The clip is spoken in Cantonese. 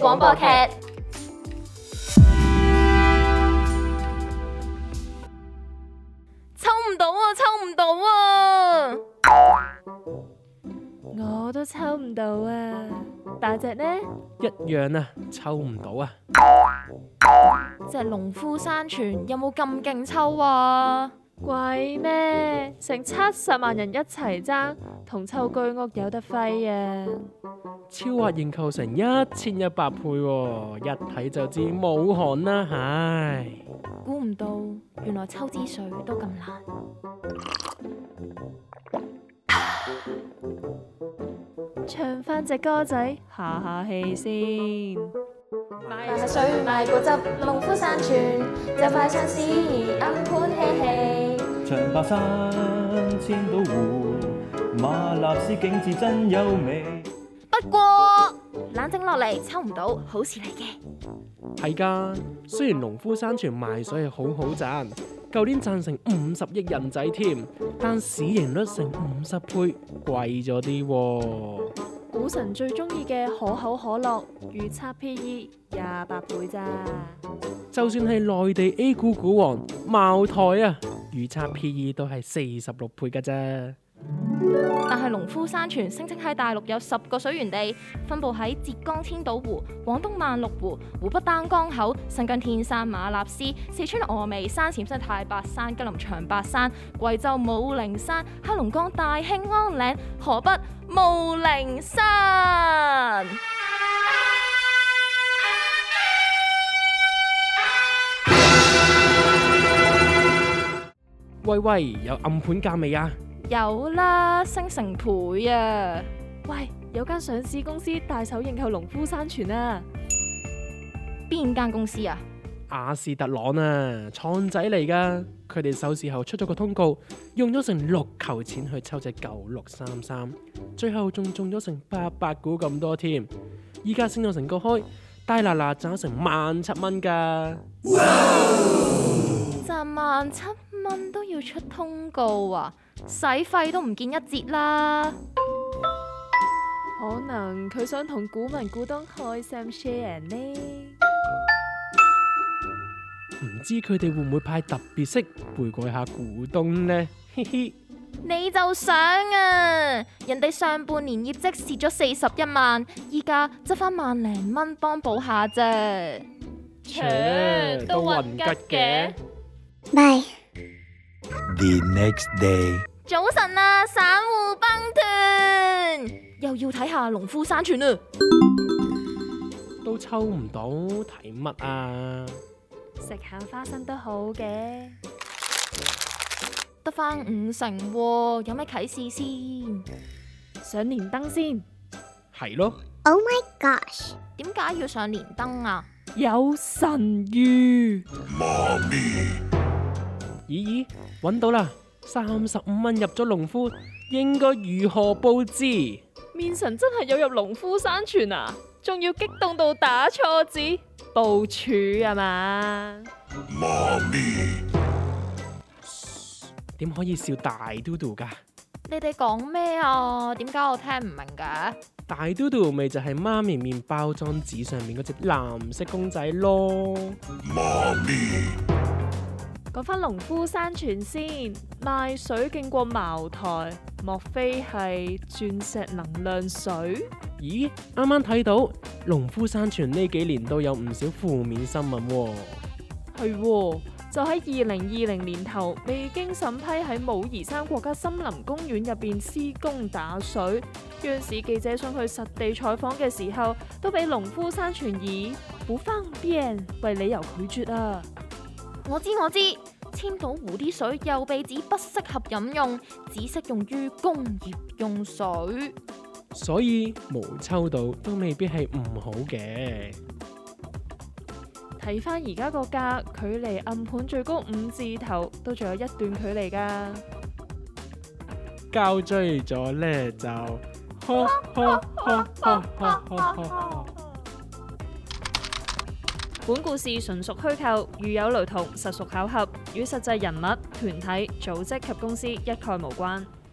廣播劇。抽唔到啊！抽唔到啊！ 我都抽唔到啊！大隻呢？ 一樣啊，抽唔到啊！ 隻農夫山泉有冇咁勁抽啊？ 鬼咩？成70萬人一齊爭，同抽居屋有得揮啊！ 超額認購成1100倍喎，一睇就知冇汗啦，唉！ 估唔到，原來抽支水都咁難。 唱翻隻歌仔，下下氣先。 買下水，買果汁，農夫山泉就快上市，暗盤嬉戲。 長白山千島湖，馬納斯景致真優美。 不過冷靜落嚟，抽唔到好事嚟嘅。 係㗎，雖然農夫山泉賣水係好好賺，舊年賺成50億人仔添，但市盈率成50倍，貴咗啲喎。 股神最中意嘅可口可樂，預測 PE 28倍咋。 就算係內地 A 股股王茅台啊，預測 PE 都係46倍㗎啫。 但係農夫山泉聲稱喺大陸有10個水源地，分佈喺浙江千島湖、廣東萬綠湖、湖北丹江口、新疆天山馬納斯、四川峨眉山、陝西太白山、吉林長白山、貴州武陵山、黑龍江大興安嶺、河北霧靈山。 喂，有暗盤價未啊？ 有啦，升成倍啊！ 喂，有間上市公司大手認購農夫山泉啊！ 邊間公司啊？ 亞視特朗啊，創仔嚟㗎。佢哋收市後出咗個通告，用咗成6球錢去抽隻9633，最後仲中咗成800股咁多添。依家升咗成個開，大嗱嗱賺成17,000蚊㗎。 賺17,000都要出通告啊！使費都唔見一截啦。 可能佢想同股民股東開 Sam share 呢？ 唔知佢哋會唔會派特別息回饋下股東呢？嘻嘻， 你就想啊！人哋上半年業績蝕咗41萬，依家執翻萬零蚊幫補下啫。 都混吉嘅。 Bye. The next day。 早晨啊，散戶乓團又要睇下農夫山泉啦。 都抽唔到，睇乜啊？ 食下花生都好嘅。 得翻50%喎，有咩啟示先？ 上連登先。 係咯。 Oh my gosh. 點解要上連登啊？ 有神諭。 媽咪。 咦，揾到啦！35蚊入咗農夫，應該如何佈置？ 面神真係有入農夫山泉啊！仲要激動到打錯字，部署啊嘛？ 媽咪， 點可以笑大嘟嘟㗎？ 你哋講咩啊？點解我聽唔明嘅？ 大嘟嘟咪就係媽咪麵包裝紙上面嗰隻藍色公仔咯。 媽咪。 講翻農夫山泉先，賣水勁過茅台，莫非係鑽石能量水？ 咦，啱啱睇到農夫山泉呢幾年都有唔少負面新聞喎。 係喎，就喺2020年頭，未經審批喺武夷山國家森林公園入邊施工打水，央視記者想去實地採訪嘅時候，都俾農夫山泉以不方便為理由拒絕啊！ 我知，千島湖啲水又被指不適合飲用，只適用於工業用水， 所以冇抽到都未必係唔好嘅。 睇翻而家個價，距離暗盤最高5字頭都仲有一段距離噶。 交追咗呢就， 本故事純屬虛構，如有雷同，實屬巧合，與實際人物、團體、組織及公司一概無關。